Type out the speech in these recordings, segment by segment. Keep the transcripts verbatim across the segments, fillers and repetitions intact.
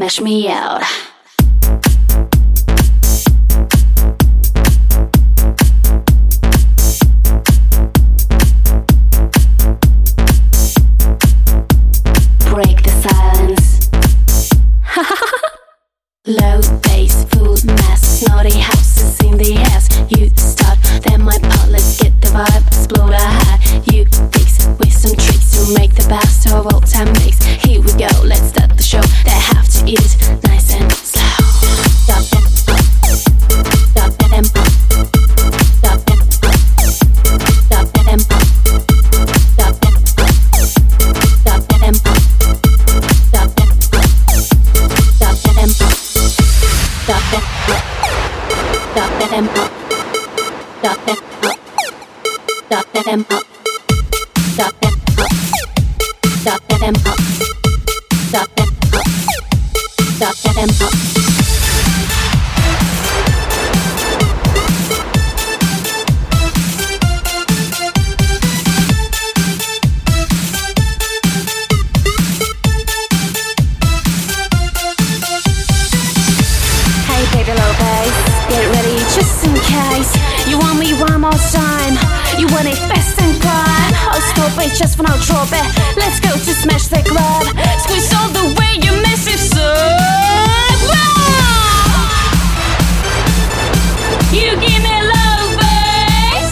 smash me out. Break the silence. Low bass, full mass, snotty houses in the ass. You start, then my part, let's get the vibe, explode a high. You fix with some tricks to make the best of all time mix. Here we go, let's start the show. They have to eat it nice and slow. Stop it, stop it and pop. Stop it, stop it and pop. Stop it, stop it and pop. Stop it, stop it and pop. Stop it, stop it and pop. Stop it, stop it and pop. Stop it, stop it and pop. Stop it, stop it and pop. Baby Lopez, get ready just in case. You want me one more time, you want it fast and quiet. Oh stop it, just for now drop it. Let's go to smash the club. Squeeze all the way, you massive soul. You give me low bass.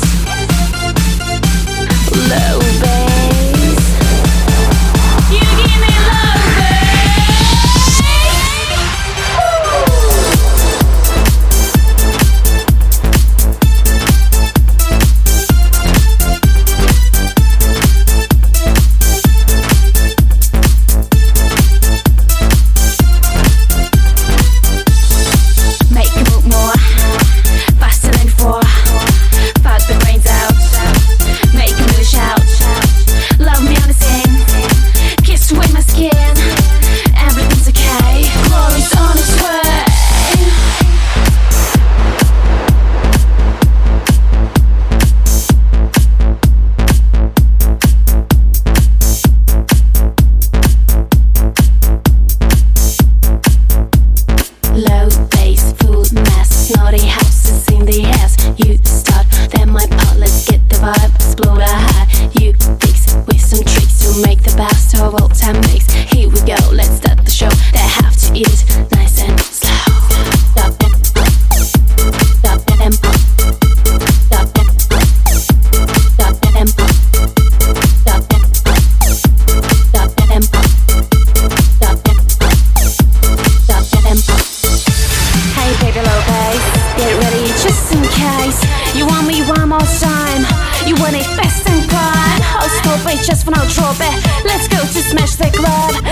Low bass. You give me low bass. Just for now drop it. Let's go to smash the club.